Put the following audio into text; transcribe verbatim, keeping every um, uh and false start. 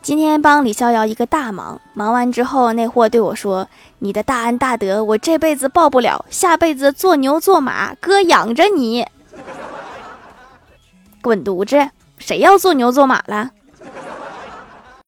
今天帮李逍遥一个大忙，忙完之后，那货对我说：“你的大恩大德，我这辈子报不了，下辈子做牛做马，哥养着你。”滚犊子！谁要做牛做马了？